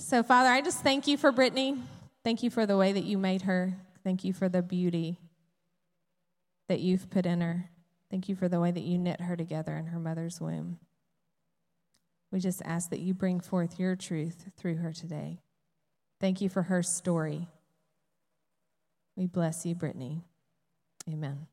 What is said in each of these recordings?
So, Father, I just thank you for Brittany. Thank you for the way that you made her. Thank you for the beauty that you've put in her. Thank you for the way that you knit her together in her mother's womb. We just ask that you bring forth your truth through her today. Thank you for her story. We bless you, Brittany. Amen.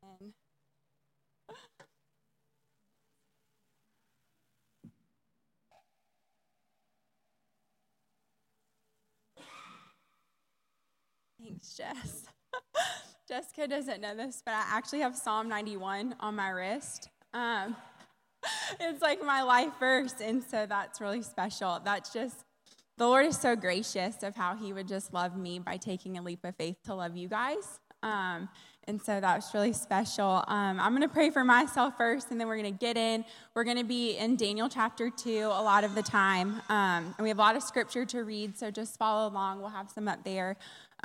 Thanks, Jess. Jessica doesn't know this, but I actually have Psalm 91 on my wrist. It's like my life verse, and so that's really special. That's just, the Lord is so gracious of how he would just love me by taking a leap of faith to love you guys. And so that was really special. I'm going to pray for myself first, and then we're going to get in. We're going to be in Daniel chapter 2 a lot of the time. And we have a lot of scripture to read, so just follow along. We'll have some up there.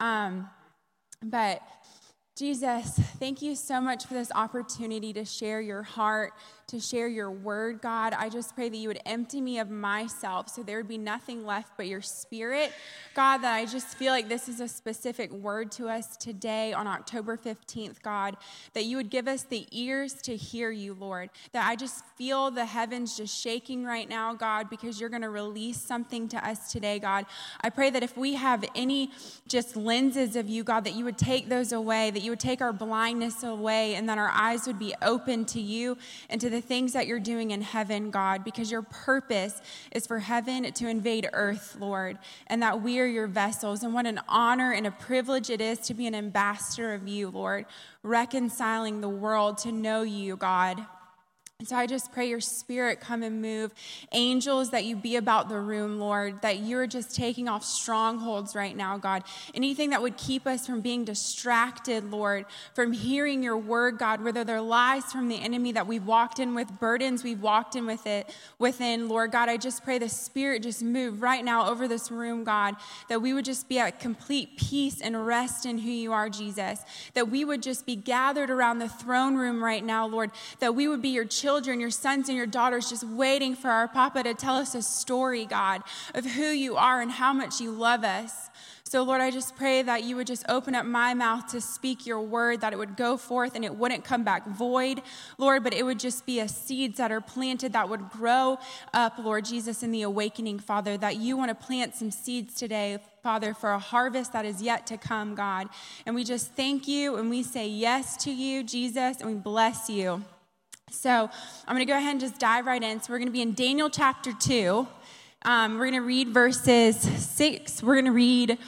But Jesus, thank you so much for this opportunity to share your heart, to share your word, God. I just pray that you would empty me of myself so there would be nothing left but your spirit. God, that I just feel like this is a specific word to us today on October 15th, God, that you would give us the ears to hear you, Lord, that I just feel the heavens just shaking right now, God, because you're going to release something to us today, God. I pray that if we have any just lenses of you, God, that you would take those away, that you would take our blindness away, and that our eyes would be open to you and to the things that you're doing in heaven, God, because your purpose is for heaven to invade earth, Lord, and that we are your vessels. And what an honor and a privilege it is to be an ambassador of you, Lord, reconciling the world to know you, God. And so I just pray your spirit come and move. Angels, that you be about the room, Lord, that you're just taking off strongholds right now, God. Anything that would keep us from being distracted, Lord, from hearing your word, God, whether they're lies from the enemy that we've walked in with, burdens we've walked in within, Lord God, I just pray the spirit just move right now over this room, God, that we would just be at complete peace and rest in who you are, Jesus, that we would just be gathered around the throne room right now, Lord, that we would be your children, your sons and your daughters, just waiting for our Papa to tell us a story, God, of who you are and how much you love us. So, Lord, I just pray that you would just open up my mouth to speak your word, that it would go forth and it wouldn't come back void, Lord, but it would just be a seeds that are planted that would grow up, Lord Jesus, in the awakening, Father, that you want to plant some seeds today, Father, for a harvest that is yet to come, God. And we just thank you and we say yes to you, Jesus, and we bless you. So I'm going to go ahead and just dive right in. So we're going to be in Daniel chapter 2. We're going to read verses 6. We're going to read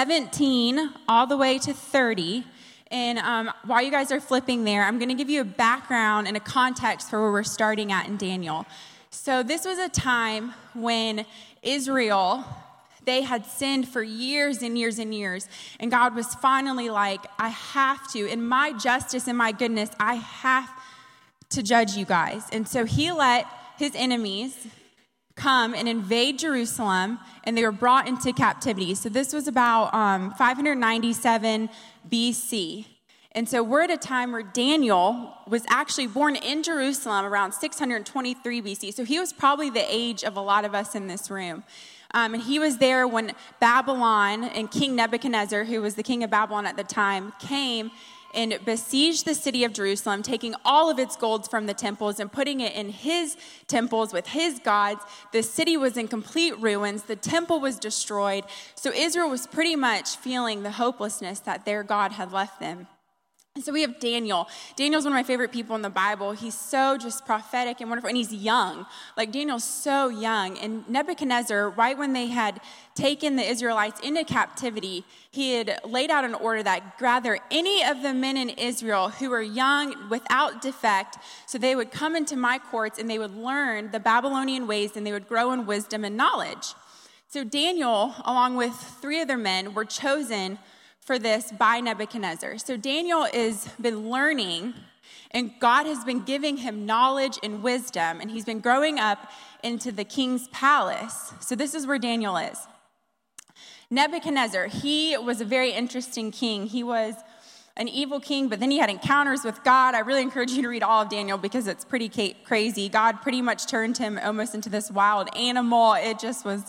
17 all the way to 30. And while you guys are flipping there, I'm going to give you a background and a context for where we're starting at in Daniel. So this was a time when Israel, they had sinned for years and years and years. And God was finally like, I have to, in my justice and my goodness, I have to judge you guys. And so he let his enemies come and invade Jerusalem, and they were brought into captivity. So this was about 597 BC. And so we're at a time where Daniel was actually born in Jerusalem around 623 BC. So he was probably the age of a lot of us in this room. And he was there when Babylon and King Nebuchadnezzar, who was the king of Babylon at the time, came and besieged the city of Jerusalem, taking all of its gold from the temples and putting it in his temples with his gods. The city was in complete ruins. The temple was destroyed. So Israel was pretty much feeling the hopelessness that their God had left them. And so we have Daniel. Daniel's one of my favorite people in the Bible. He's so just prophetic and wonderful, and he's young. Like, Daniel's so young. And Nebuchadnezzar, right when they had taken the Israelites into captivity, he had laid out an order that gather any of the men in Israel who were young, without defect, so they would come into my courts and they would learn the Babylonian ways and they would grow in wisdom and knowledge. So Daniel, along with 3 other men, were chosen for this by Nebuchadnezzar. So Daniel has been learning, and God has been giving him knowledge and wisdom, and he's been growing up into the king's palace. So this is where Daniel is. Nebuchadnezzar, he was a very interesting king. He was an evil king, but then he had encounters with God. I really encourage you to read all of Daniel because it's pretty crazy. God pretty much turned him almost into this wild animal. It just was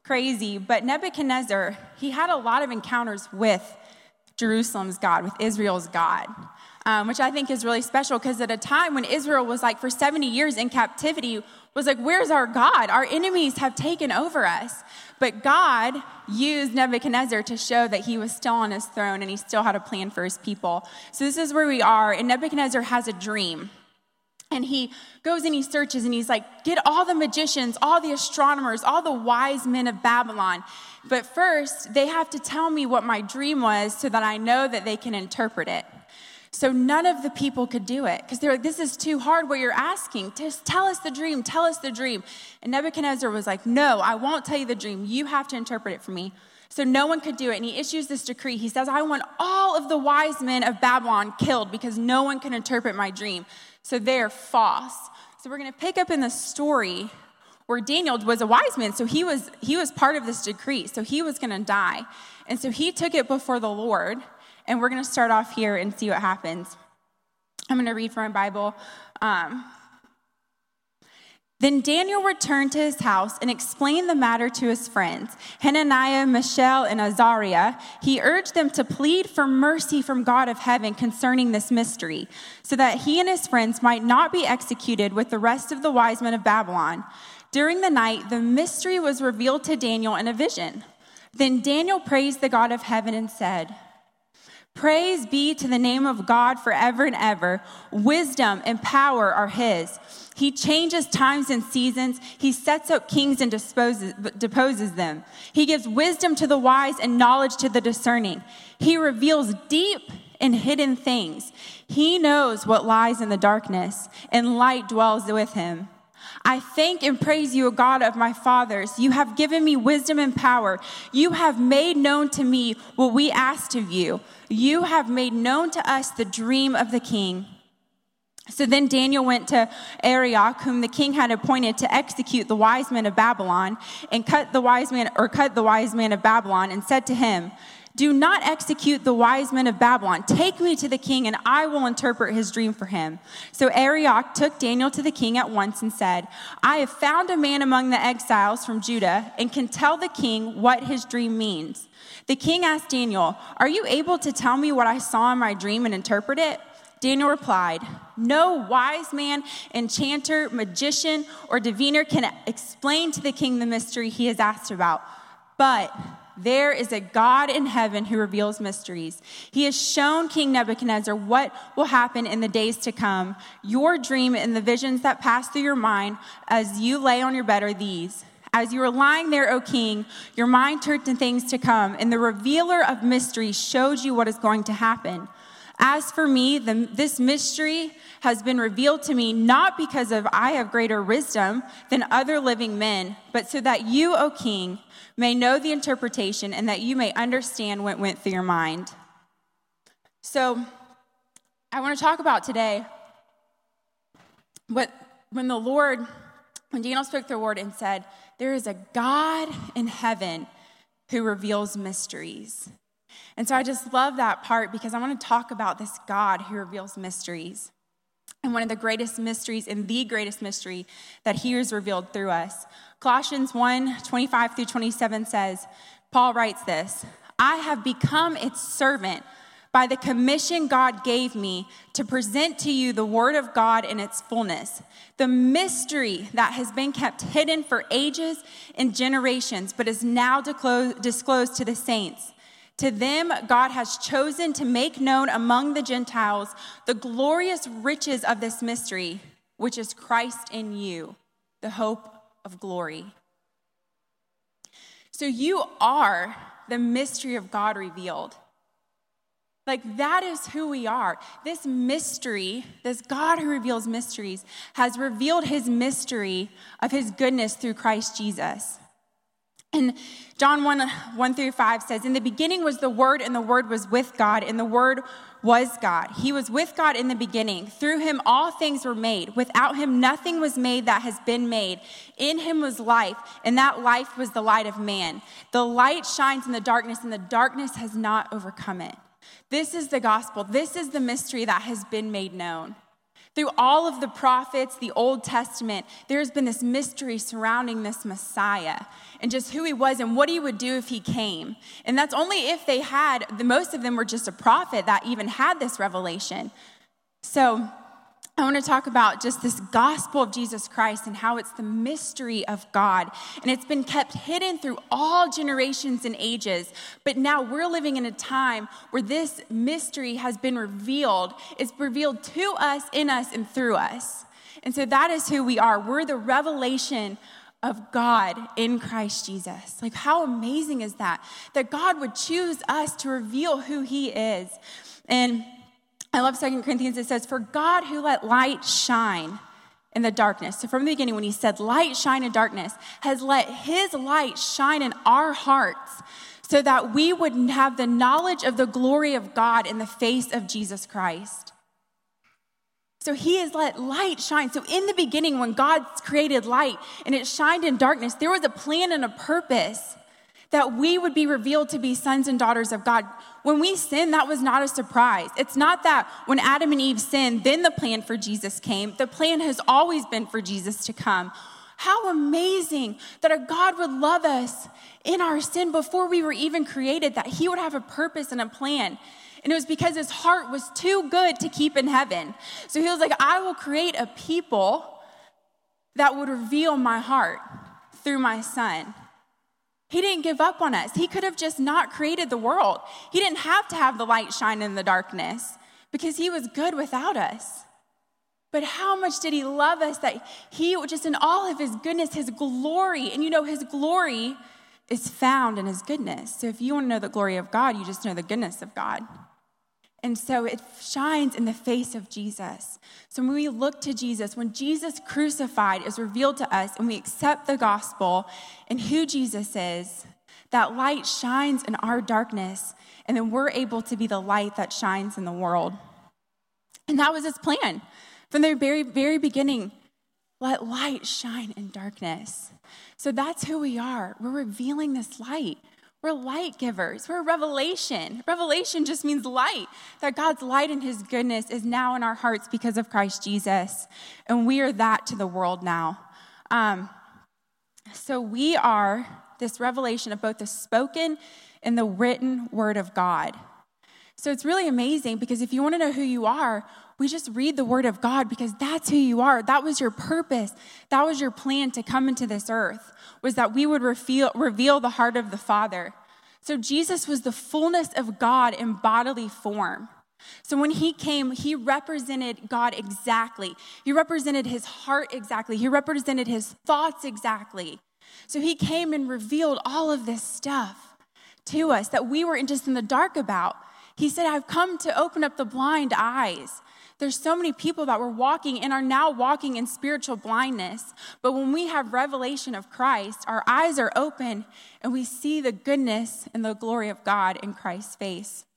crazy, but Nebuchadnezzar, he had a lot of encounters with Jerusalem's God, with Israel's God, which I think is really special because at a time when Israel was like for 70 years in captivity, was like, where's our God? Our enemies have taken over us. But God used Nebuchadnezzar to show that he was still on his throne and he still had a plan for his people. So this is where we are, and Nebuchadnezzar has a dream. And he goes and he searches and he's like, get all the magicians, all the astronomers, all the wise men of Babylon. But first, they have to tell me what my dream was so that I know that they can interpret it. So none of the people could do it because they're like, this is too hard what you're asking. Just tell us the dream, tell us the dream. And Nebuchadnezzar was like, no, I won't tell you the dream. You have to interpret it for me. So no one could do it. And he issues this decree. He says, I want all of the wise men of Babylon killed because no one can interpret my dream. So they're false. So we're going to pick up in the story where Daniel was a wise man. So he was part of this decree. So he was going to die. And so he took it before the Lord. And we're going to start off here and see what happens. I'm going to read from my Bible. Then Daniel returned to his house and explained the matter to his friends, Hananiah, Mishael, and Azariah. He urged them to plead for mercy from God of heaven concerning this mystery, so that he and his friends might not be executed with the rest of the wise men of Babylon. During the night, the mystery was revealed to Daniel in a vision. Then Daniel praised the God of heaven and said, Praise be to the name of God forever and ever. Wisdom and power are his. He changes times and seasons. He sets up kings and deposes them. He gives wisdom to the wise and knowledge to the discerning. He reveals deep and hidden things. He knows what lies in the darkness, and light dwells with him. I thank and praise you, O God of my fathers. You have given me wisdom and power. You have made known to me what we asked of you. You have made known to us the dream of the king. So then Daniel went to Arioch, whom the king had appointed to execute the wise men of Babylon, and cut the wise man of Babylon, and said to him, Do not execute the wise men of Babylon. Take me to the king, and I will interpret his dream for him. So Arioch took Daniel to the king at once and said, I have found a man among the exiles from Judah, and can tell the king what his dream means. The king asked Daniel, Are you able to tell me what I saw in my dream and interpret it? Daniel replied, No wise man, enchanter, magician, or diviner can explain to the king the mystery he has asked about. But there is a God in heaven who reveals mysteries. He has shown King Nebuchadnezzar what will happen in the days to come. Your dream and the visions that pass through your mind as you lay on your bed are these. As you were lying there, O king, your mind turned to things to come, and the revealer of mysteries showed you what is going to happen. As for me, this mystery has been revealed to me not because I have greater wisdom than other living men, but so that you, O king, may know the interpretation and that you may understand what went through your mind. So I want to talk about today when Daniel spoke to the Lord and said, there is a God in heaven who reveals mysteries. And so I just love that part because I want to talk about this God who reveals mysteries. And one of the greatest mysteries and the greatest mystery that he has revealed through us. Colossians 1:25-27 says, Paul writes this, I have become its servant by the commission God gave me to present to you the word of God in its fullness, the mystery that has been kept hidden for ages and generations, but is now disclosed to the saints. To them, God has chosen to make known among the Gentiles the glorious riches of this mystery, which is Christ in you, the hope of glory. So you are the mystery of God revealed. Like that is who we are. This mystery, this God who reveals mysteries, has revealed his mystery of his goodness through Christ Jesus. And John 1:1-5 says, In the beginning was the Word, and the Word was with God, and the Word was God. He was with God in the beginning. Through him all things were made. Without him nothing was made that has been made. In him was life, and that life was the light of man. The light shines in the darkness, and the darkness has not overcome it. This is the gospel. This is the mystery that has been made known. Through all of the prophets, the Old Testament, there's been this mystery surrounding this Messiah and just who he was and what he would do if he came. And that's only if they had, most of them were just a prophet that even had this revelation. So I want to talk about just this gospel of Jesus Christ and how it's the mystery of God. And it's been kept hidden through all generations and ages. But now we're living in a time where this mystery has been revealed. It's revealed to us, in us, and through us. And so that is who we are. We're the revelation of God in Christ Jesus. Like, how amazing is that? That God would choose us to reveal who he is. And I love 2 Corinthians. It says, for God who let light shine in the darkness. So from the beginning, when he said light shine in darkness, has let his light shine in our hearts so that we would have the knowledge of the glory of God in the face of Jesus Christ. So he has let light shine. So in the beginning, when God created light and it shined in darkness, there was a plan and a purpose that we would be revealed to be sons and daughters of God. When we sinned, that was not a surprise. It's not that when Adam and Eve sinned, then the plan for Jesus came. The plan has always been for Jesus to come. How amazing that our God would love us in our sin before we were even created, that he would have a purpose and a plan. And it was because his heart was too good to keep in heaven. So he was like, I will create a people that would reveal my heart through my son. He didn't give up on us. He could have just not created the world. He didn't have to have the light shine in the darkness because he was good without us. But how much did he love us that he, just in all of his goodness, his glory, and you know, his glory is found in his goodness. So if you want to know the glory of God, you just know the goodness of God. And so it shines in the face of Jesus. So when we look to Jesus, when Jesus crucified is revealed to us and we accept the gospel and who Jesus is, that light shines in our darkness, and then we're able to be the light that shines in the world. And that was his plan. From the very, very beginning, let light shine in darkness. So that's who we are. We're revealing this light. We're light givers. We're revelation. Revelation just means light. That God's light and his goodness is now in our hearts because of Christ Jesus. And we are that to the world now. So we are this revelation of both the spoken and the written word of God. So it's really amazing because if you want to know who you are, we just read the word of God because that's who you are. That was your purpose. That was your plan to come into this earth, was that we would reveal the heart of the Father. So Jesus was the fullness of God in bodily form. So when he came, he represented God exactly. He represented his heart exactly. He represented his thoughts exactly. So he came and revealed all of this stuff to us that we were just in the dark about. He said, I've come to open up the blind eyes. There's so many people that were walking and are now walking in spiritual blindness. But when we have revelation of Christ, our eyes are open and we see the goodness and the glory of God in Christ's face.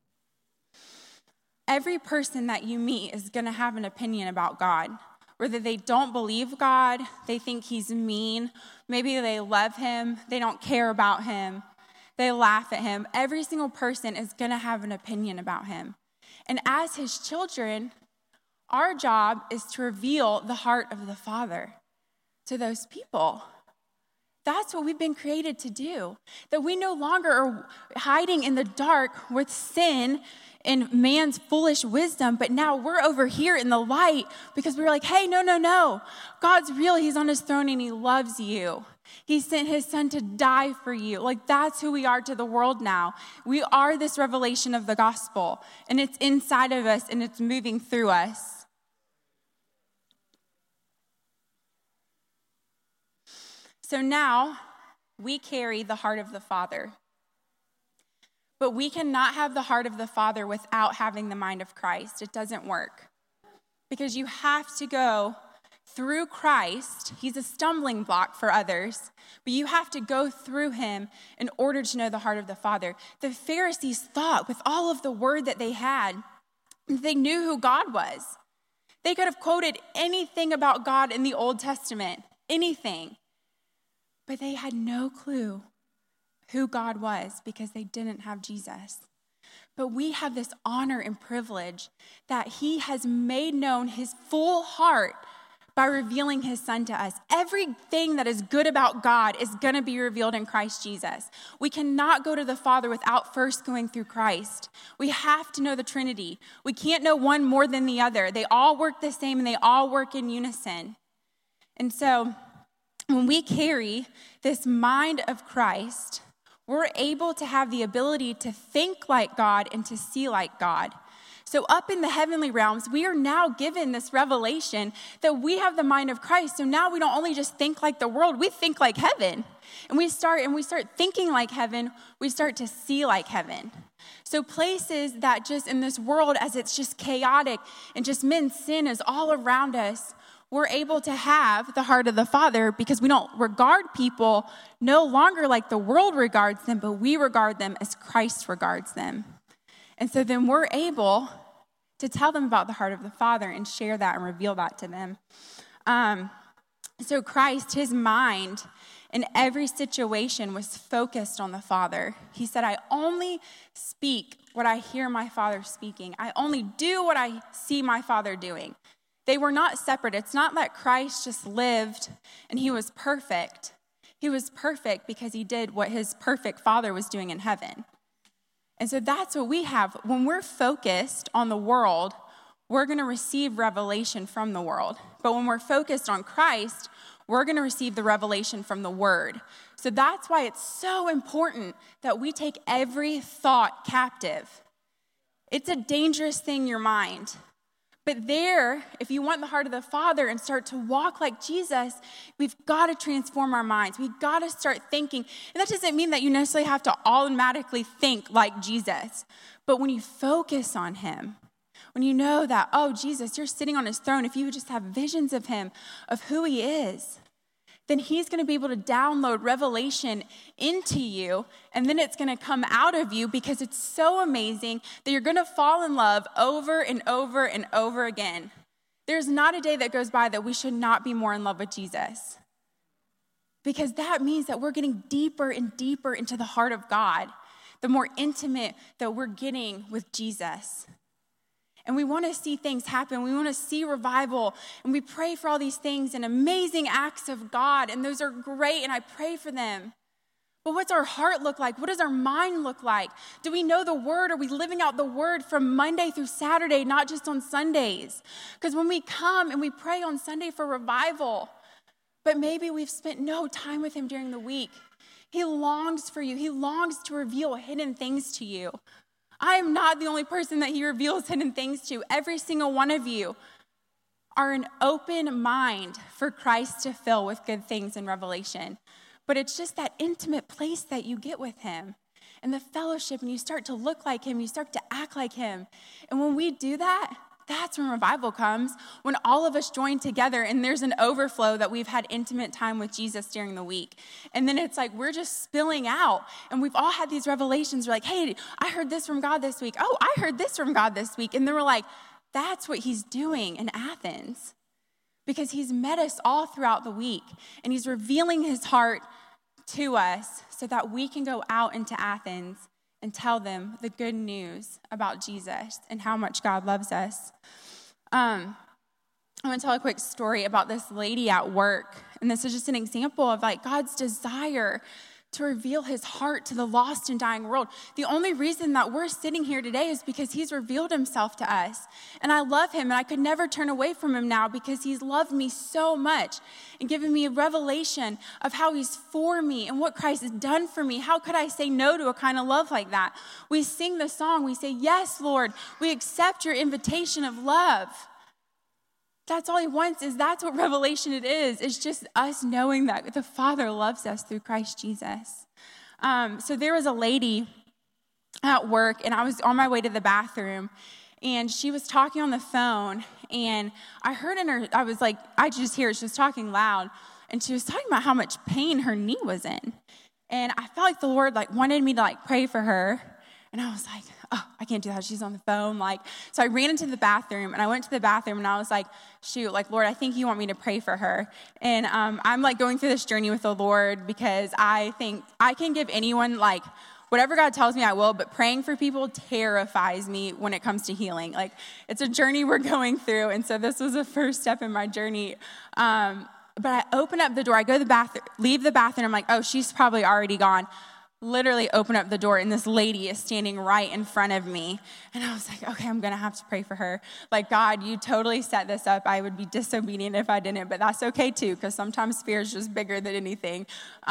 Every person that you meet is going to have an opinion about God. Whether they don't believe God, they think he's mean, maybe they love him, they don't care about him, they laugh at him. Every single person is going to have an opinion about him. And as his children, our job is to reveal the heart of the Father to those people. That's what we've been created to do. That we no longer are hiding in the dark with sin and man's foolish wisdom, but now we're over here in the light because we're like, hey, no. God's real. He's on his throne and he loves you. He sent his son to die for you. Like, that's who we are to the world now. We are this revelation of the gospel, and it's inside of us, and it's moving through us. So now we carry the heart of the Father. But we cannot have the heart of the Father without having the mind of Christ. It doesn't work. Because you have to go through Christ. He's a stumbling block for others, but you have to go through him in order to know the heart of the Father. The Pharisees thought with all of the word that they had, they knew who God was. They could have quoted anything about God in the Old Testament, anything, but they had no clue who God was because they didn't have Jesus. But we have this honor and privilege that he has made known his full heart by revealing his son to us. Everything that is good about God is going to be revealed in Christ Jesus. We cannot go to the Father without first going through Christ. We have to know the Trinity. We can't know one more than the other. They all work the same and they all work in unison. And so when we carry this mind of Christ, we're able to have the ability to think like God and to see like God. So up in the heavenly realms, we are now given this revelation that we have the mind of Christ. So now we don't only just think like the world, we think like heaven. And we start thinking like heaven, we start to see like heaven. So places that just in this world, as it's just chaotic and just men's sin is all around us, we're able to have the heart of the Father because we don't regard people no longer like the world regards them, but we regard them as Christ regards them. And so then we're able to tell them about the heart of the Father and share that and reveal that to them. So Christ, his mind in every situation was focused on the Father. He said, I only speak what I hear my Father speaking. I only do what I see my Father doing. They were not separate. It's not that Christ just lived and he was perfect. He was perfect because he did what his perfect Father was doing in heaven. And so that's what we have. When we're focused on the world, we're going to receive revelation from the world. But when we're focused on Christ, we're going to receive the revelation from the Word. So that's why it's so important that we take every thought captive. It's a dangerous thing, your mind. But there, if you want the heart of the Father and start to walk like Jesus, we've got to transform our minds. We've got to start thinking. And that doesn't mean that you necessarily have to automatically think like Jesus. But when you focus on him, when you know that, oh, Jesus, you're sitting on his throne, if you would just have visions of him, of who he is, then he's going to be able to download revelation into you, and then it's going to come out of you because it's so amazing that you're going to fall in love over and over and over again. There's not a day that goes by that we should not be more in love with Jesus, because that means that we're getting deeper and deeper into the heart of God, the more intimate that we're getting with Jesus. And we want to see things happen. We want to see revival. And we pray for all these things and amazing acts of God. And those are great, and I pray for them. But what's our heart look like? What does our mind look like? Do we know the Word? Are we living out the Word from Monday through Saturday, not just on Sundays? Because when we come and we pray on Sunday for revival, but maybe we've spent no time with him during the week. He longs for you. He longs to reveal hidden things to you. I am not the only person that he reveals hidden things to. Every single one of you are an open mind for Christ to fill with good things in Revelation. But it's just that intimate place that you get with him and the fellowship, and you start to look like him, you start to act like him. And when we do that, that's when revival comes, when all of us join together and there's an overflow that we've had intimate time with Jesus during the week. And then it's like we're just spilling out, and we've all had these revelations. We're like, hey, I heard this from God this week. Oh, I heard this from God this week. And then we're like, that's what he's doing in Athens, because he's met us all throughout the week, and he's revealing his heart to us so that we can go out into Athens and tell them the good news about Jesus and how much God loves us. I'm going to tell a quick story about this lady at work. And this is just an example of like God's desire to reveal his heart to the lost and dying world. The only reason that we're sitting here today is because he's revealed himself to us. And I love him, and I could never turn away from him now because he's loved me so much and given me a revelation of how he's for me and what Christ has done for me. How could I say no to a kind of love like that? We sing the song. We say, yes, Lord, we accept your invitation of love. That's all he wants. That's what revelation it is. It's just us knowing that the Father loves us through Christ Jesus. So there was a lady at work, and I was on my way to the bathroom, and she was talking on the phone, and I heard in her, I was like, I just hear her, she was talking loud, and she was talking about how much pain her knee was in. And I felt like the Lord wanted me to pray for her. And I was like, oh, I can't do that. She's on the phone. So I ran into the bathroom, and I went to the bathroom, and I was like, shoot, Lord, I think you want me to pray for her. And I'm going through this journey with the Lord because I think I can give anyone whatever God tells me, I will, but praying for people terrifies me when it comes to healing. Like, it's a journey we're going through, and so this was the first step in my journey. But I open up the door, I go to the bathroom, leave the bathroom, I'm like, oh, she's probably already gone. Literally open up the door, and this lady is standing right in front of me. And I was like, okay, I'm going to have to pray for her. Like, God, you totally set this up. I would be disobedient if I didn't, but that's okay too, because sometimes fear is just bigger than anything.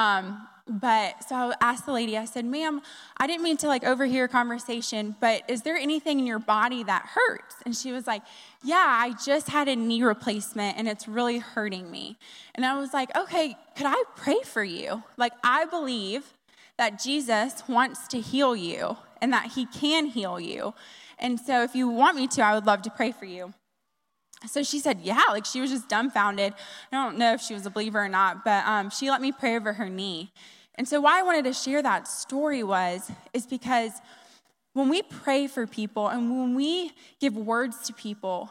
But so I asked the lady, I said, ma'am, I didn't mean to overhear a conversation, but is there anything in your body that hurts? And she was like, yeah, I just had a knee replacement and it's really hurting me. And I was like, okay, could I pray for you? Like, I believe that Jesus wants to heal you and that he can heal you. And so if you want me to, I would love to pray for you. So she said, yeah, she was just dumbfounded. I don't know if she was a believer or not, but she let me pray over her knee. And so why I wanted to share that story is because when we pray for people and when we give words to people,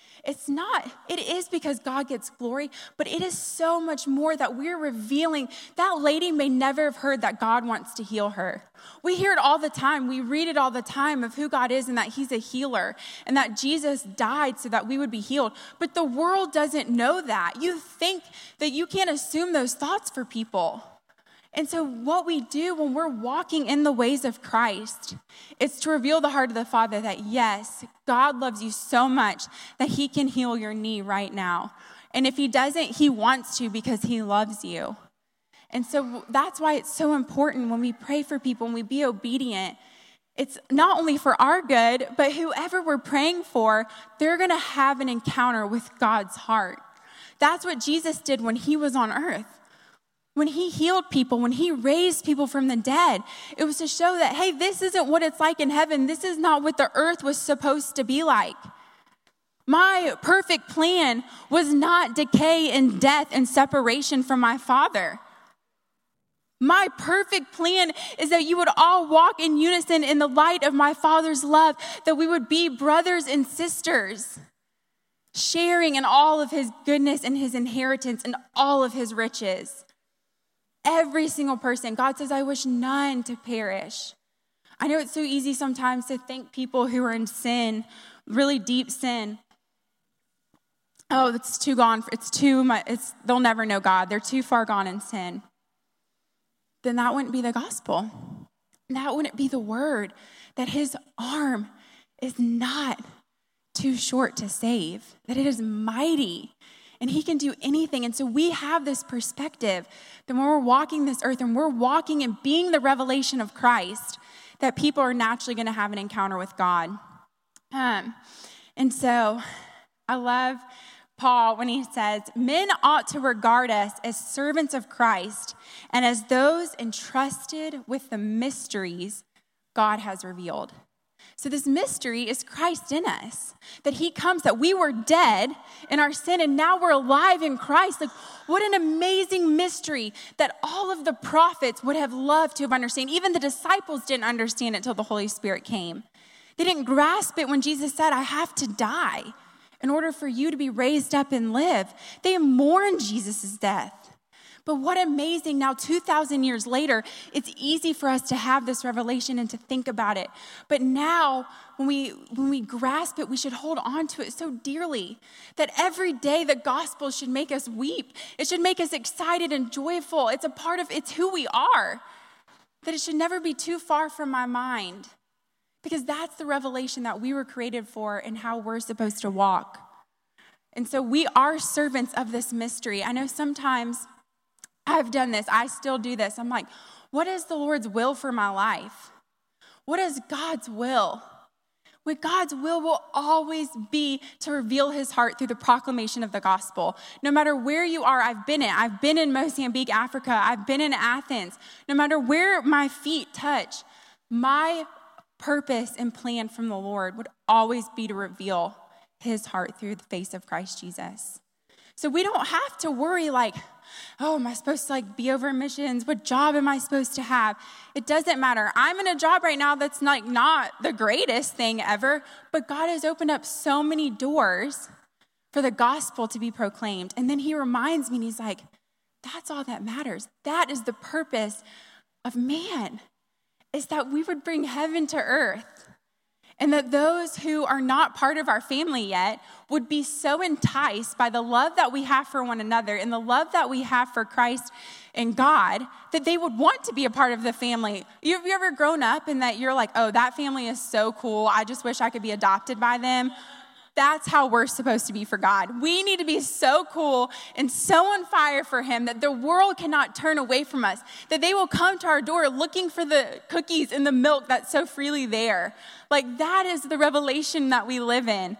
it is because God gets glory, but it is so much more that we're revealing. That lady may never have heard that God wants to heal her. We hear it all the time. We read it all the time of who God is and that he's a healer and that Jesus died so that we would be healed. But the world doesn't know that. You think that you can't assume those thoughts for people. And so what we do when we're walking in the ways of Christ is to reveal the heart of the Father that, yes, God loves you so much that he can heal your knee right now. And if he doesn't, he wants to because he loves you. And so that's why it's so important when we pray for people and we be obedient. It's not only for our good, but whoever we're praying for, they're going to have an encounter with God's heart. That's what Jesus did when he was on earth. When he healed people, when he raised people from the dead, it was to show that, hey, this isn't what it's like in heaven. This is not what the earth was supposed to be like. My perfect plan was not decay and death and separation from my Father. My perfect plan is that you would all walk in unison in the light of my Father's love, that we would be brothers and sisters, sharing in all of his goodness and his inheritance and all of his riches. Every single person. God says, I wish none to perish. I know it's so easy sometimes to think people who are in sin, really deep sin, oh, it's too gone. It's too much. They'll never know God. They're too far gone in sin. Then that wouldn't be the gospel. That wouldn't be the word, that his arm is not too short to save, that it is mighty. And he can do anything. And so we have this perspective that when we're walking this earth and we're walking and being the revelation of Christ, that people are naturally going to have an encounter with God. And so I love Paul when he says, men ought to regard us as servants of Christ and as those entrusted with the mysteries God has revealed. So this mystery is Christ in us, that he comes, that we were dead in our sin and now we're alive in Christ. Like, what an amazing mystery that all of the prophets would have loved to have understood. Even the disciples didn't understand it till the Holy Spirit came. They didn't grasp it when Jesus said, I have to die in order for you to be raised up and live. They mourned Jesus' death. But what amazing, now 2,000 years later, it's easy for us to have this revelation and to think about it. But now, when we grasp it, we should hold on to it so dearly that every day the gospel should make us weep. It should make us excited and joyful. It's who we are. That it should never be too far from my mind. Because that's the revelation that we were created for and how we're supposed to walk. And so we are servants of this mystery. I know sometimes I've done this. I still do this. I'm like, what is the Lord's will for my life? What is God's will? What God's will always be to reveal his heart through the proclamation of the gospel. No matter where you are, I've been in Mozambique, Africa. I've been in Athens. No matter where my feet touch, my purpose and plan from the Lord would always be to reveal his heart through the face of Christ Jesus. So we don't have to worry like, oh, am I supposed to be over missions? What job am I supposed to have? It doesn't matter. I'm in a job right now that's not the greatest thing ever, but God has opened up so many doors for the gospel to be proclaimed. And then he reminds me, and he's like, that's all that matters. That is the purpose of man. is that we would bring heaven to earth. And that those who are not part of our family yet would be so enticed by the love that we have for one another and the love that we have for Christ and God that they would want to be a part of the family. Have you ever grown up and that you're like, oh, that family is so cool. I just wish I could be adopted by them. That's how we're supposed to be for God. We need to be so cool and so on fire for him that the world cannot turn away from us, that they will come to our door looking for the cookies and the milk that's so freely there. Like that is the revelation that we live in.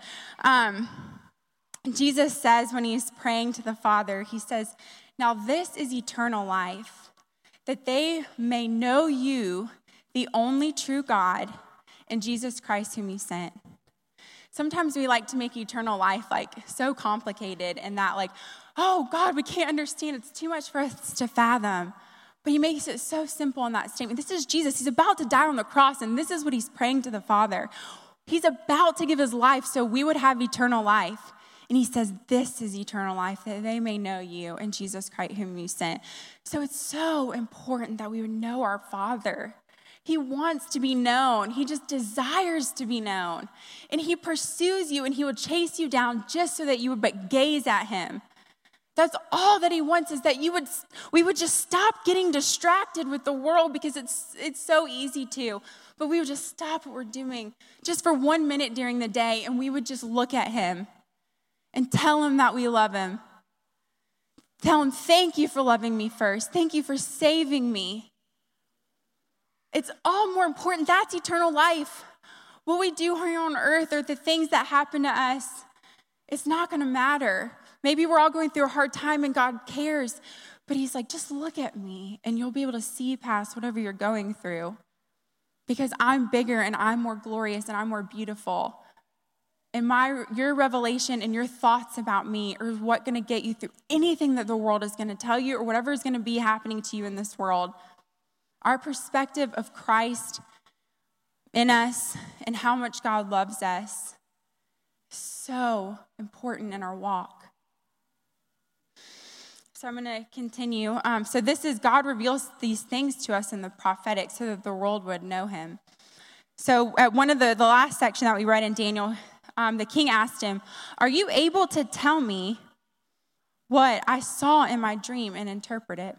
Jesus says when he's praying to the Father, he says, now this is eternal life, that they may know you, the only true God, and Jesus Christ whom you sent. Sometimes we like to make eternal life like so complicated and that like, oh God, we can't understand. It's too much for us to fathom. But he makes it so simple in that statement. This is Jesus. He's about to die on the cross, and this is what he's praying to the Father. He's about to give his life so we would have eternal life. And he says, this is eternal life, that they may know you and Jesus Christ whom you sent. So it's so important that we would know our Father. He wants to be known. He just desires to be known. And he pursues you and he will chase you down just so that you would but gaze at him. That's all that he wants, is that we would just stop getting distracted with the world, because it's so easy to. But we would just stop what we're doing just for 1 minute during the day, and we would just look at him and tell him that we love him. Tell him, thank you for loving me first. Thank you for saving me. It's all more important. That's eternal life. What we do here on earth or the things that happen to us, it's not going to matter. Maybe we're all going through a hard time and God cares, but he's like, just look at me and you'll be able to see past whatever you're going through, because I'm bigger and I'm more glorious and I'm more beautiful. And your revelation and your thoughts about me are what going to get you through anything that the world is going to tell you or whatever is going to be happening to you in this world. Our perspective of Christ in us and how much God loves us is so important in our walk. So I'm going to continue. So this is, God reveals these things to us in the prophetic so that the world would know him. So at one of the last section that we read in Daniel, the king asked him, are you able to tell me what I saw in my dream and interpret it?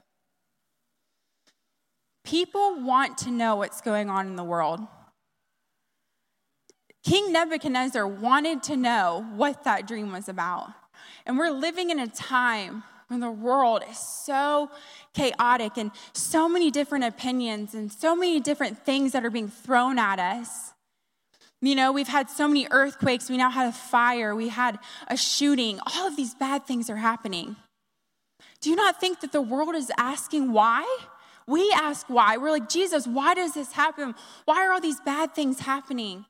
People want to know what's going on in the world. King Nebuchadnezzar wanted to know what that dream was about. And we're living in a time when the world is so chaotic and so many different opinions and so many different things that are being thrown at us. You know, we've had so many earthquakes. We now had a fire. We had a shooting. All of these bad things are happening. Do you not think that the world is asking why? We ask why. We're like, Jesus, why does this happen? Why are all these bad things happening?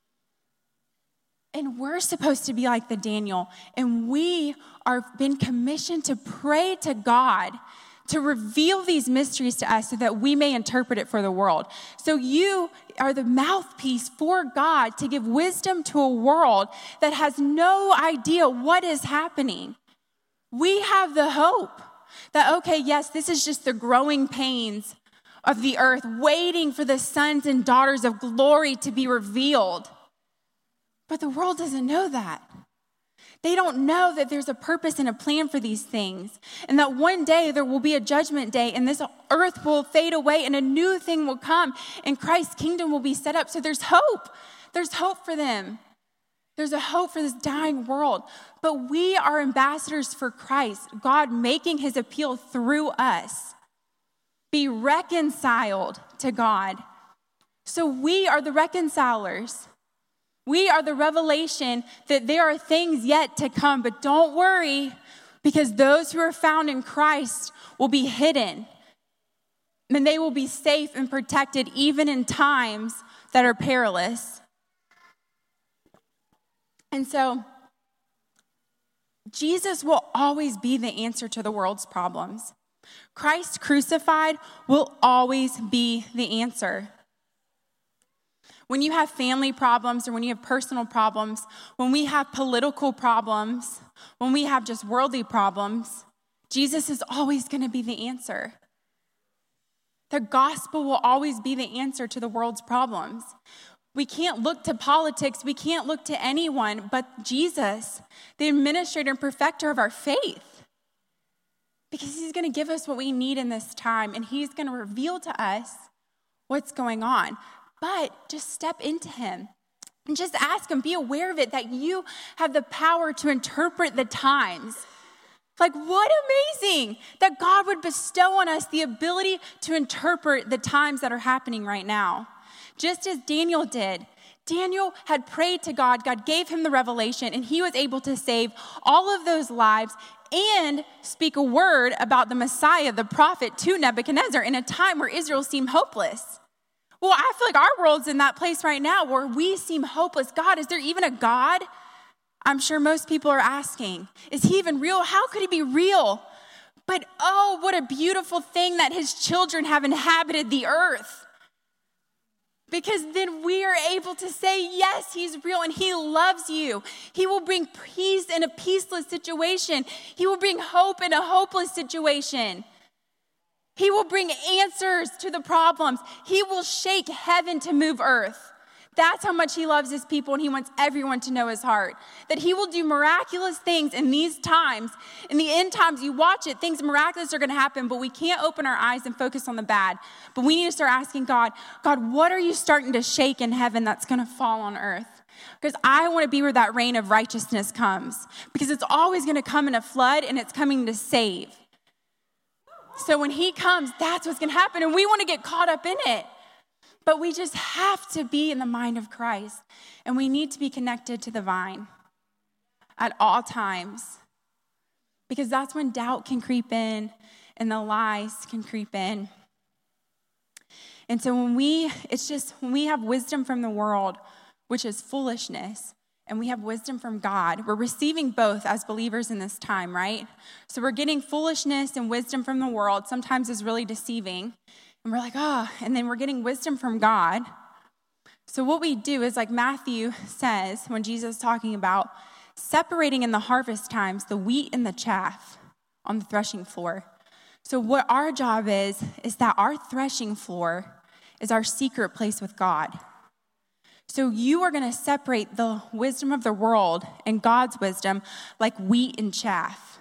And we're supposed to be like the Daniel. And we are been commissioned to pray to God to reveal these mysteries to us so that we may interpret it for the world. So you are the mouthpiece for God to give wisdom to a world that has no idea what is happening. We have the hope that, okay, yes, this is just the growing pains of the earth, waiting for the sons and daughters of glory to be revealed. But the world doesn't know that. They don't know that there's a purpose and a plan for these things, and that one day there will be a judgment day, and this earth will fade away, and a new thing will come, and Christ's kingdom will be set up. So there's hope. There's hope for them. There's a hope for this dying world. But we are ambassadors for Christ, God making his appeal through us. Be reconciled to God. So we are the reconcilers. We are the revelation that there are things yet to come, but don't worry, because those who are found in Christ will be hidden, and they will be safe and protected even in times that are perilous. And so, Jesus will always be the answer to the world's problems. Christ crucified will always be the answer. When you have family problems or when you have personal problems, when we have political problems, when we have just worldly problems, Jesus is always going to be the answer. The gospel will always be the answer to the world's problems. We can't look to politics. We can't look to anyone but Jesus, the administrator and perfecter of our faith. Because he's going to give us what we need in this time, and he's going to reveal to us what's going on. But just step into him and just ask him, be aware of it, that you have the power to interpret the times. Like, what amazing that God would bestow on us the ability to interpret the times that are happening right now. Just as Daniel did. Daniel had prayed to God. God gave him the revelation, and he was able to save all of those lives and speak a word about the Messiah, the prophet, to Nebuchadnezzar in a time where Israel seemed hopeless. Well, I feel like our world's in that place right now where we seem hopeless. God, is there even a God? I'm sure most people are asking, is he even real? How could he be real? But oh, what a beautiful thing that his children have inhabited the earth. Because then we are able to say, yes, he's real and he loves you. He will bring peace in a peaceless situation. He will bring hope in a hopeless situation. He will bring answers to the problems. He will shake heaven to move earth. That's how much he loves his people, and he wants everyone to know his heart. That he will do miraculous things in these times. In the end times, you watch it, things miraculous are going to happen, but we can't open our eyes and focus on the bad. But we need to start asking God, what are you starting to shake in heaven that's going to fall on earth? Because I want to be where that reign of righteousness comes. Because it's always going to come in a flood, and it's coming to save. So when he comes, that's what's going to happen, and we want to get caught up in it. But we just have to be in the mind of Christ, and we need to be connected to the vine at all times, because that's when doubt can creep in and the lies can creep in. And so when we have wisdom from the world, which is foolishness, and we have wisdom from God, we're receiving both as believers in this time, right? So we're getting foolishness and wisdom from the world. Sometimes is really deceiving. And we're like, and then we're getting wisdom from God. So what we do is, like Matthew says, when Jesus is talking about separating in the harvest times the wheat and the chaff on the threshing floor. So what our job is that our threshing floor is our secret place with God. So you are going to separate the wisdom of the world and God's wisdom like wheat and chaff.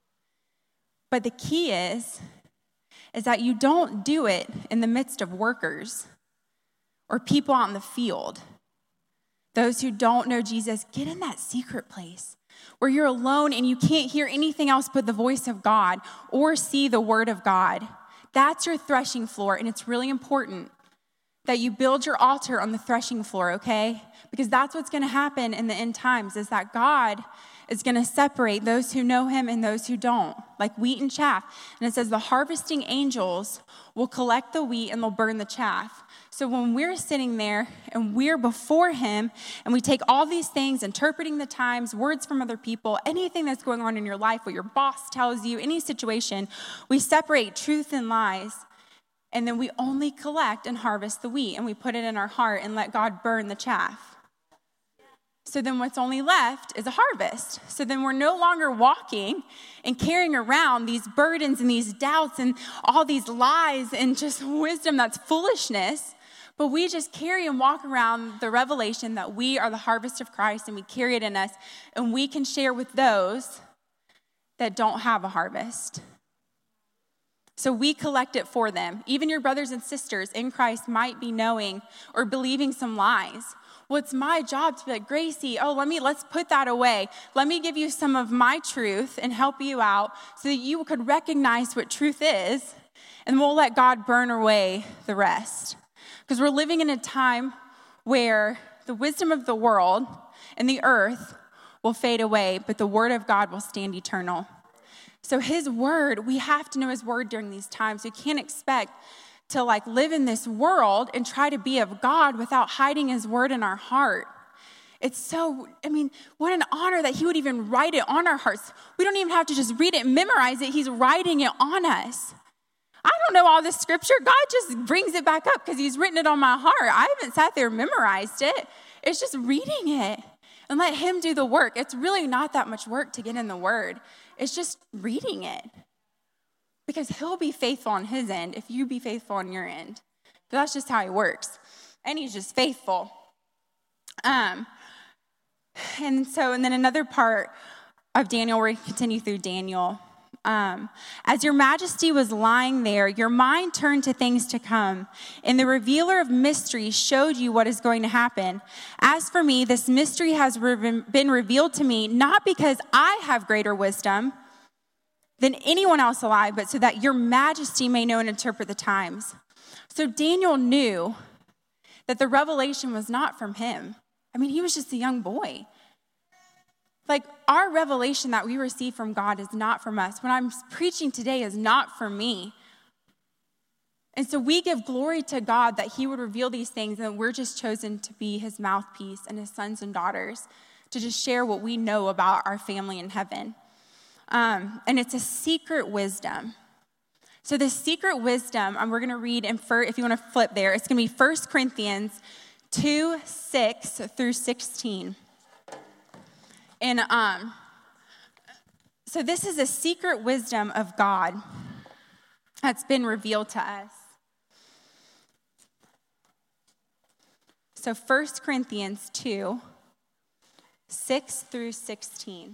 But the key is that you don't do it in the midst of workers or people out in the field. Those who don't know Jesus, get in that secret place where you're alone and you can't hear anything else but the voice of God or see the word of God. That's your threshing floor, and it's really important that you build your altar on the threshing floor, okay? Because that's what's going to happen in the end times, is that God is going to separate those who know him and those who don't, like wheat and chaff. And it says the harvesting angels will collect the wheat and they'll burn the chaff. So when we're sitting there and we're before him and we take all these things, interpreting the times, words from other people, anything that's going on in your life, what your boss tells you, any situation, we separate truth and lies. And then we only collect and harvest the wheat, and we put it in our heart and let God burn the chaff. So then what's only left is a harvest. So then we're no longer walking and carrying around these burdens and these doubts and all these lies and just wisdom that's foolishness, but we just carry and walk around the revelation that we are the harvest of Christ, and we carry it in us, and we can share with those that don't have a harvest. So we collect it for them. Even your brothers and sisters in Christ might be knowing or believing some lies. Well, it's my job to be like, Gracie, let's put that away. Let me give you some of my truth and help you out so that you could recognize what truth is, and we'll let God burn away the rest. Because we're living in a time where the wisdom of the world and the earth will fade away, but the word of God will stand eternal. So his word, we have to know his word during these times. We can't expect to live in this world and try to be of God without hiding his word in our heart. It's what an honor that he would even write it on our hearts. We don't even have to just read it and memorize it. He's writing it on us. I don't know all this scripture. God just brings it back up because he's written it on my heart. I haven't sat there and memorized it. It's just reading it and let him do the work. It's really not that much work to get in the word. It's just reading it. because he'll be faithful on his end if you be faithful on your end. But that's just how he works. And he's just faithful. And then another part of Daniel, we're going to continue through Daniel. As your majesty was lying there, your mind turned to things to come, and the revealer of mysteries showed you what is going to happen. As for me, this mystery has been revealed to me, not because I have greater wisdom than anyone else alive, but so that your majesty may know and interpret the times. So Daniel knew that the revelation was not from him. I mean, he was just a young boy. Like, our revelation that we receive from God is not from us. What I'm preaching today is not for me. And so we give glory to God that he would reveal these things, and we're just chosen to be his mouthpiece and his sons and daughters to just share what we know about our family in heaven. And it's a secret wisdom. So the secret wisdom, we're going to read, if you want to flip there, it's going to be 1 Corinthians 2:6-16. And so this is a secret wisdom of God that's been revealed to us. So 1 Corinthians 2:6-16.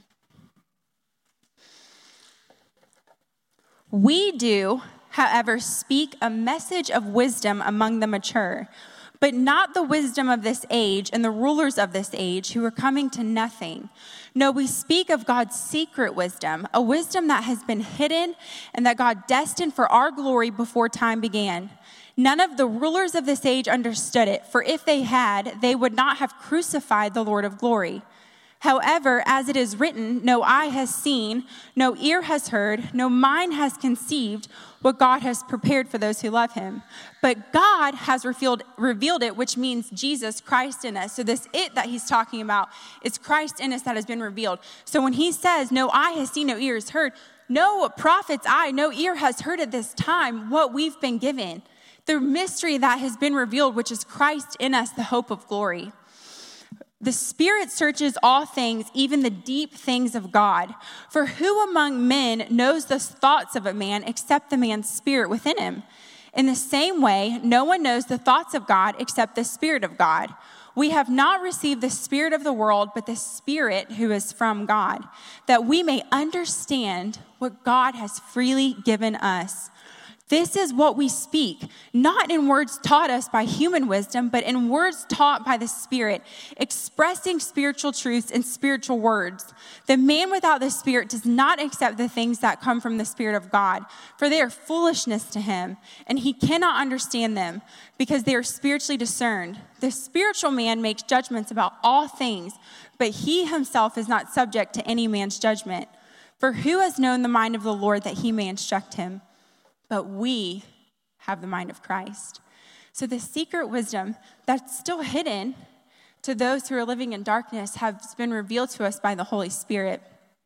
We do, however, speak a message of wisdom among the mature, but not the wisdom of this age and the rulers of this age who are coming to nothing. No, we speak of God's secret wisdom, a wisdom that has been hidden and that God destined for our glory before time began. None of the rulers of this age understood it, for if they had, they would not have crucified the Lord of glory. However, as it is written, no eye has seen, no ear has heard, no mind has conceived what God has prepared for those who love him. But God has revealed it, which means Jesus, Christ in us. So this it that he's talking about is Christ in us that has been revealed. So when he says, no eye has seen, no ear has heard, no prophet's eye, no ear has heard at this time what we've been given. The mystery that has been revealed, which is Christ in us, the hope of glory. The Spirit searches all things, even the deep things of God. For who among men knows the thoughts of a man except the man's spirit within him? In the same way, no one knows the thoughts of God except the Spirit of God. We have not received the spirit of the world, but the Spirit who is from God, that we may understand what God has freely given us. This is what we speak, not in words taught us by human wisdom, but in words taught by the Spirit, expressing spiritual truths in spiritual words. The man without the Spirit does not accept the things that come from the Spirit of God, for they are foolishness to him, and he cannot understand them because they are spiritually discerned. The spiritual man makes judgments about all things, but he himself is not subject to any man's judgment. For who has known the mind of the Lord that he may instruct him? But we have the mind of Christ. So the secret wisdom that's still hidden to those who are living in darkness has been revealed to us by the Holy Spirit.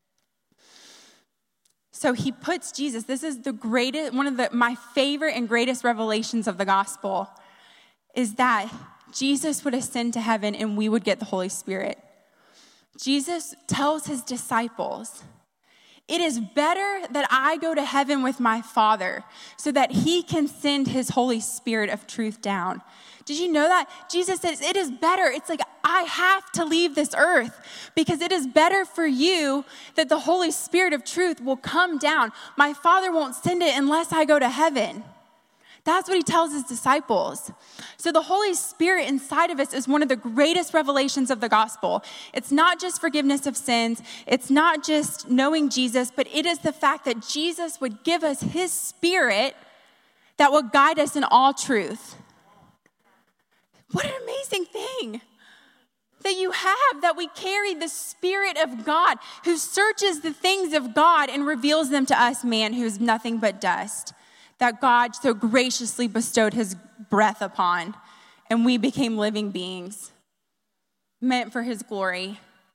So he puts Jesus, this is the greatest, one of my favorite and greatest revelations of the gospel, is that Jesus would ascend to heaven and we would get the Holy Spirit. Jesus tells his disciples, it is better that I go to heaven with my Father so that he can send his Holy Spirit of truth down. Did you know that? Jesus says it is better. It's like I have to leave this earth because it is better for you that the Holy Spirit of truth will come down. My Father won't send it unless I go to heaven. That's what he tells his disciples. So the Holy Spirit inside of us is one of the greatest revelations of the gospel. It's not just forgiveness of sins. It's not just knowing Jesus, but it is the fact that Jesus would give us his Spirit that will guide us in all truth. What an amazing thing that you have, that we carry the Spirit of God who searches the things of God and reveals them to us, man, who is nothing but dust. That God so graciously bestowed his breath upon, and we became living beings, meant for his glory.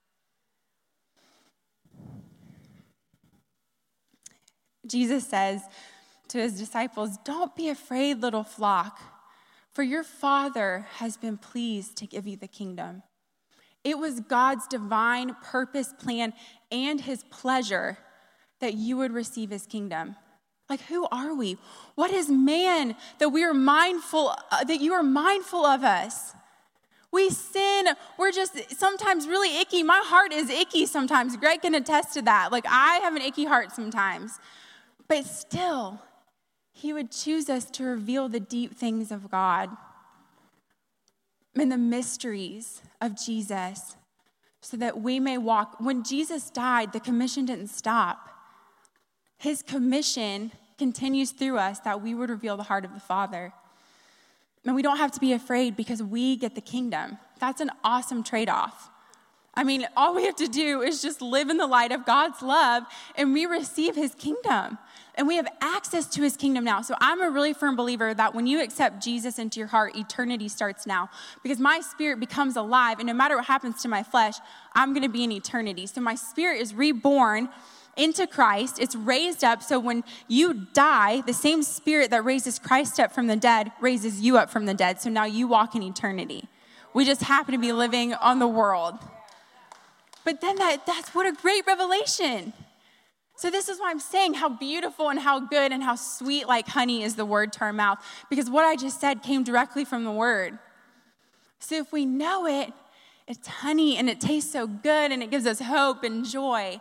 Jesus says to his disciples, don't be afraid, little flock, for your Father has been pleased to give you the kingdom. It was God's divine purpose, plan, and his pleasure that you would receive his kingdom. Like, who are we? What is man that we are mindful, that you are mindful of us? We sin. We're just sometimes really icky. My heart is icky sometimes. Greg can attest to that. Like, I have an icky heart sometimes. But still, he would choose us to reveal the deep things of God and the mysteries of Jesus so that we may walk. When Jesus died, the commission didn't stop. His commission continues through us that we would reveal the heart of the Father. And we don't have to be afraid because we get the kingdom. That's an awesome trade-off. I mean, all we have to do is just live in the light of God's love and we receive his kingdom. And we have access to his kingdom now. So I'm a really firm believer that when you accept Jesus into your heart, eternity starts now. Because my spirit becomes alive, and no matter what happens to my flesh, I'm going to be in eternity. So my spirit is reborn into Christ. It's raised up. So when you die, the same spirit that raises Christ up from the dead raises you up from the dead. So now you walk in eternity. We just happen to be living on the world. But then that's what a great revelation. So this is why I'm saying how beautiful and how good and how sweet like honey is the word to our mouth. Because what I just said came directly from the word. So if we know it, it's honey and it tastes so good and it gives us hope and joy.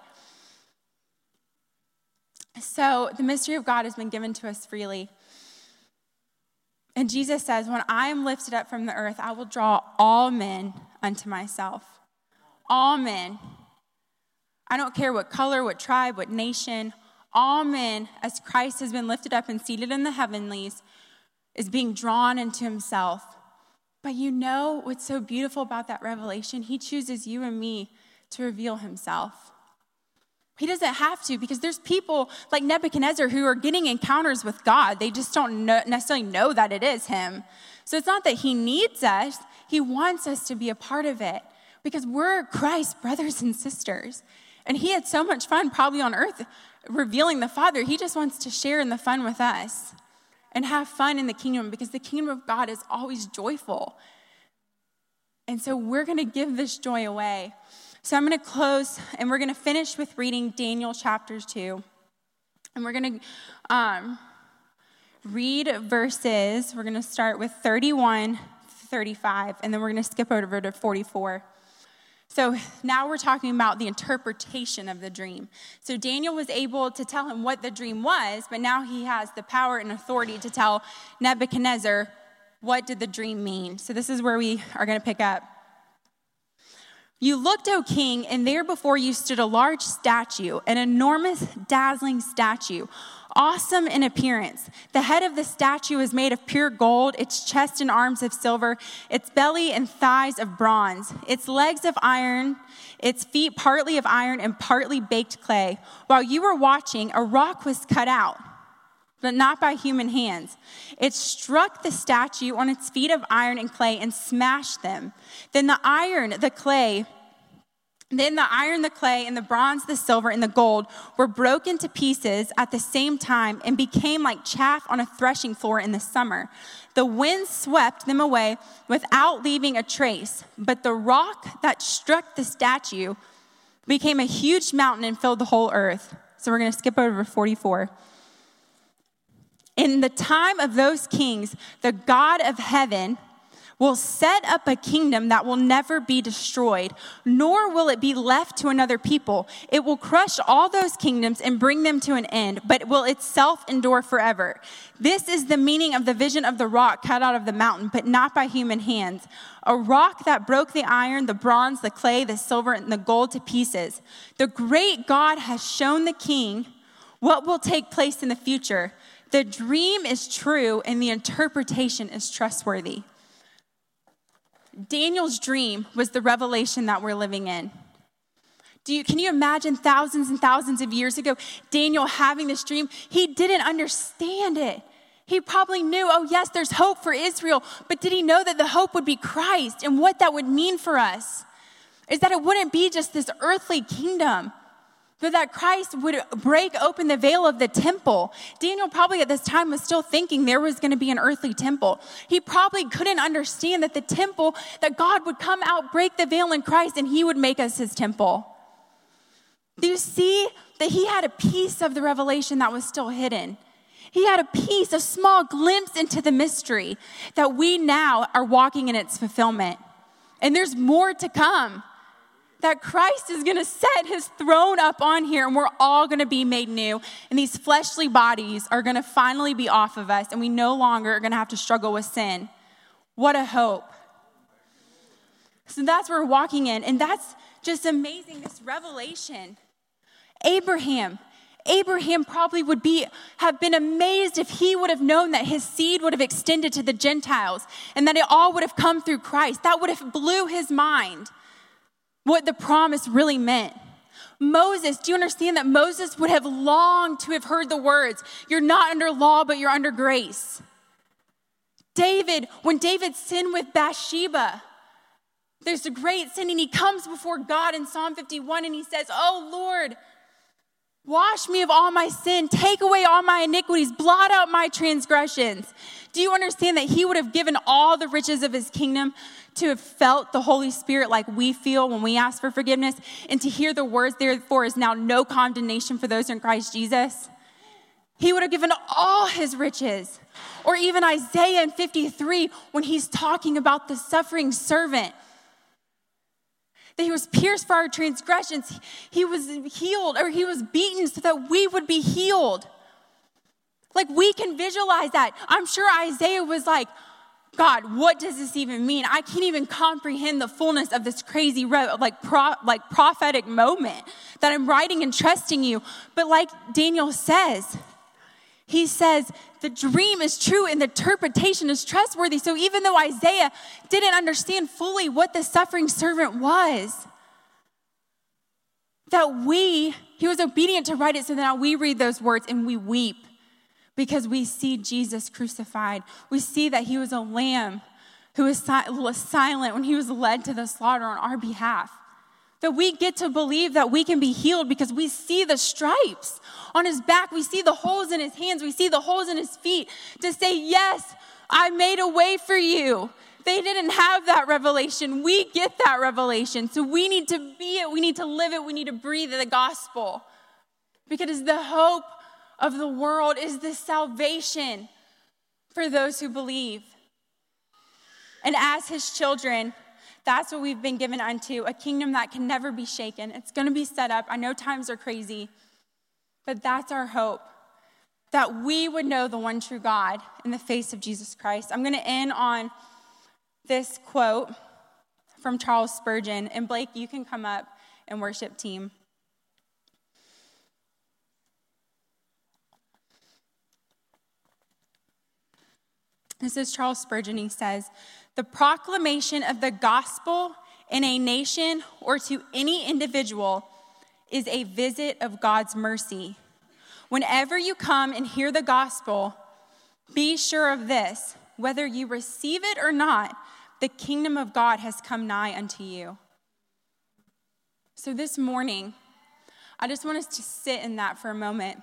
So the mystery of God has been given to us freely. And Jesus says, when I am lifted up from the earth, I will draw all men unto myself. All men. I don't care what color, what tribe, what nation. All men, as Christ has been lifted up and seated in the heavenlies, is being drawn into himself. But you know what's so beautiful about that revelation? He chooses you and me to reveal himself. He doesn't have to, because there's people like Nebuchadnezzar who are getting encounters with God. They just don't necessarily know that it is him. So it's not that he needs us. He wants us to be a part of it because we're Christ's brothers and sisters. And he had so much fun probably on earth revealing the Father. He just wants to share in the fun with us and have fun in the kingdom because the kingdom of God is always joyful. And so we're going to give this joy away. So I'm going to close, and we're going to finish with reading Daniel chapter 2. And we're going to read verses. We're going to start with 31, 35, and then we're going to skip over to 44. So now we're talking about the interpretation of the dream. So Daniel was able to tell him what the dream was, but now he has the power and authority to tell Nebuchadnezzar what did the dream mean. So this is where we are going to pick up. You looked, O king, and there before you stood a large statue, an enormous, dazzling statue, awesome in appearance. The head of the statue is made of pure gold, its chest and arms of silver, its belly and thighs of bronze, its legs of iron, its feet partly of iron and partly baked clay. While you were watching, a rock was cut out, but not by human hands. It struck the statue on its feet of iron and clay and smashed them. Then the iron, the clay, and the bronze, the silver, and the gold were broken to pieces at the same time and became like chaff on a threshing floor in the summer. The wind swept them away without leaving a trace, but the rock that struck the statue became a huge mountain and filled the whole earth. So we're going to skip over 44. In the time of those kings, the God of heaven will set up a kingdom that will never be destroyed, nor will it be left to another people. It will crush all those kingdoms and bring them to an end, but will itself endure forever. This is the meaning of the vision of the rock cut out of the mountain, but not by human hands. A rock that broke the iron, the bronze, the clay, the silver, and the gold to pieces. The great God has shown the king what will take place in the future. The dream is true and the interpretation is trustworthy. Daniel's dream was the revelation that we're living in. Can you imagine thousands and thousands of years ago, Daniel having this dream? He didn't understand it. He probably knew, oh yes, there's hope for Israel, but did he know that the hope would be Christ and what that would mean for us? Is that it wouldn't be just this earthly kingdom, but that Christ would break open the veil of the temple. Daniel probably at this time was still thinking there was going to be an earthly temple. He probably couldn't understand that the temple, that God would come out, break the veil in Christ, and he would make us his temple. Do you see that he had a piece of the revelation that was still hidden? He had a piece, a small glimpse into the mystery that we now are walking in its fulfillment. And there's more to come. That Christ is going to set his throne up on here, and we're all going to be made new. And these fleshly bodies are going to finally be off of us, and we no longer are going to have to struggle with sin. What a hope. So that's what we're walking in, and that's just amazing, this revelation. Abraham probably would have been amazed if he would have known that his seed would have extended to the Gentiles and that it all would have come through Christ. That would have blew his mind, what the promise really meant. Moses, do you understand that Moses would have longed to have heard the words, "You're not under law, but you're under grace"? David, when David sinned with Bathsheba, there's a great sin, and he comes before God in Psalm 51, and he says, "Oh Lord, wash me of all my sin, take away all my iniquities, blot out my transgressions." Do you understand that he would have given all the riches of his kingdom to have felt the Holy Spirit like we feel when we ask for forgiveness, and to hear the words, "Therefore is now no condemnation for those in Christ Jesus"? He would have given all his riches. Or even Isaiah in 53, when he's talking about the suffering servant, that he was pierced for our transgressions, he was healed, or he was beaten so that we would be healed. Like, we can visualize that. I'm sure Isaiah was like, "God, what does this even mean? I can't even comprehend the fullness of this crazy prophetic moment that I'm writing and trusting you." But like Daniel says, he says, the dream is true and the interpretation is trustworthy. So even though Isaiah didn't understand fully what the suffering servant was, he was obedient to write it, so that now we read those words and we weep because we see Jesus crucified. We see that he was a lamb who was silent when he was led to the slaughter on our behalf. That we get to believe that we can be healed because we see the stripes on his back. We see the holes in his hands. We see the holes in his feet to say, "Yes, I made a way for you." They didn't have that revelation. We get that revelation. So we need to be it. We need to live it. We need to breathe the gospel. Because the hope of the world is the salvation for those who believe. And as his children, that's what we've been given unto, a kingdom that can never be shaken. It's going to be set up. I know times are crazy, but that's our hope, that we would know the one true God in the face of Jesus Christ. I'm going to end on this quote from Charles Spurgeon. And Blake, you can come up and worship team. This is Charles Spurgeon. He says, "The proclamation of the gospel in a nation or to any individual is a visit of God's mercy. Whenever you come and hear the gospel, be sure of this: whether you receive it or not, the kingdom of God has come nigh unto you." So this morning, I just want us to sit in that for a moment.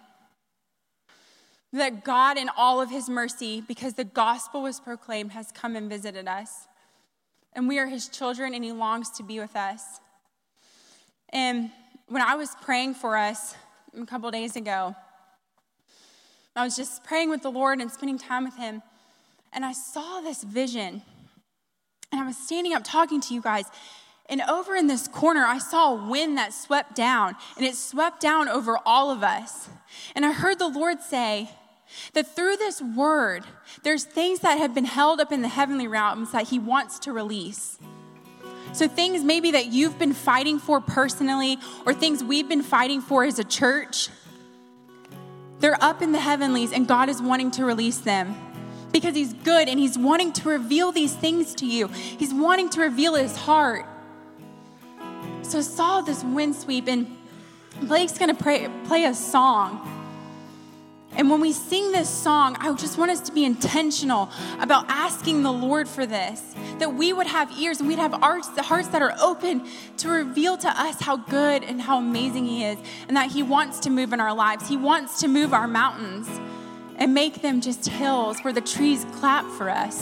That God, in all of his mercy, because the gospel was proclaimed, has come and visited us. And we are his children, and he longs to be with us. And when I was praying for us a couple days ago, I was just praying with the Lord and spending time with him. And I saw this vision. And I was standing up talking to you guys. And over in this corner, I saw a wind that swept down. And it swept down over all of us. And I heard the Lord say that through this word, there's things that have been held up in the heavenly realms that he wants to release. So things maybe that you've been fighting for personally, or things we've been fighting for as a church, they're up in the heavenlies, and God is wanting to release them because he's good, and he's wanting to reveal these things to you. He's wanting to reveal his heart. So I saw this wind sweep, and Blake's going to play a song. And when we sing this song, I just want us to be intentional about asking the Lord for this, that we would have ears and we'd have hearts that are open to reveal to us how good and how amazing he is, and that he wants to move in our lives. He wants to move our mountains and make them just hills where the trees clap for us.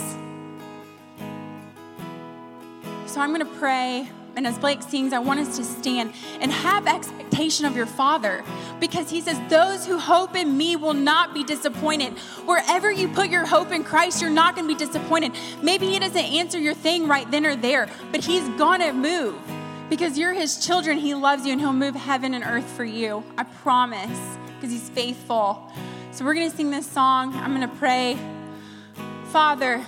So I'm going to pray, and as Blake sings, I want us to stand and have expectation expectation of your Father, because he says, those who hope in me will not be disappointed. Wherever you put your hope in Christ, you're not going to be disappointed. Maybe he doesn't answer your thing right then or there, but he's going to move because you're his children. He loves you and he'll move heaven and earth for you. I promise, because he's faithful. So we're going to sing this song. I'm going to pray. Father,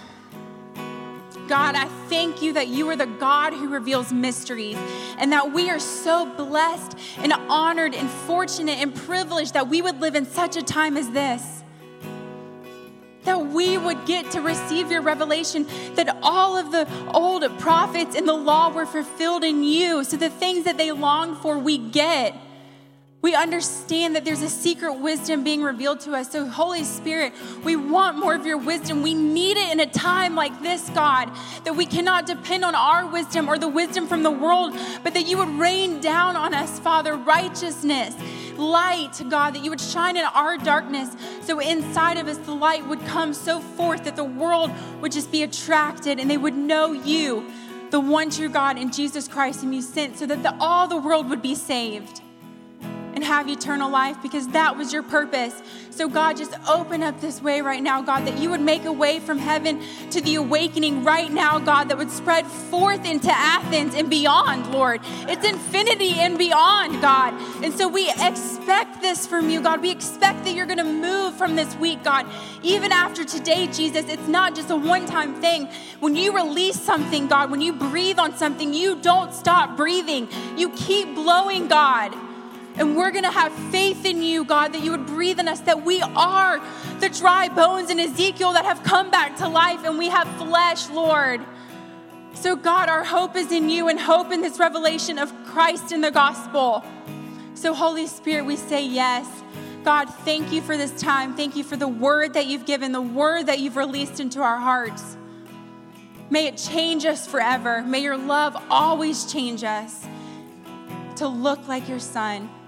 God, I thank you that you are the God who reveals mysteries, and that we are so blessed and honored and fortunate and privileged that we would live in such a time as this. That we would get to receive your revelation, that all of the old prophets in the law were fulfilled in you. So the things that they longed for, we get. We understand that there's a secret wisdom being revealed to us. So Holy Spirit, we want more of your wisdom. We need it in a time like this, God, that we cannot depend on our wisdom or the wisdom from the world, but that you would rain down on us, Father, righteousness, light, God, that you would shine in our darkness. So inside of us, the light would come so forth that the world would just be attracted and they would know you, the one true God, in Jesus Christ, whom you sent, so that all the world would be saved and have eternal life, because that was your purpose. So God, just open up this way right now, God, that you would make a way from heaven to the awakening right now, God, that would spread forth into Athens and beyond, Lord. It's infinity and beyond, God. And so we expect this from you, God. We expect that you're going to move from this week, God. Even after today, Jesus, it's not just a one-time thing. When you release something, God, when you breathe on something, you don't stop breathing. You keep blowing, God. And we're going to have faith in you, God, that you would breathe in us, that we are the dry bones in Ezekiel that have come back to life, and we have flesh, Lord. So, God, our hope is in you and hope in this revelation of Christ in the gospel. So, Holy Spirit, we say yes. God, thank you for this time. Thank you for the word that you've given, the word that you've released into our hearts. May it change us forever. May your love always change us to look like your Son.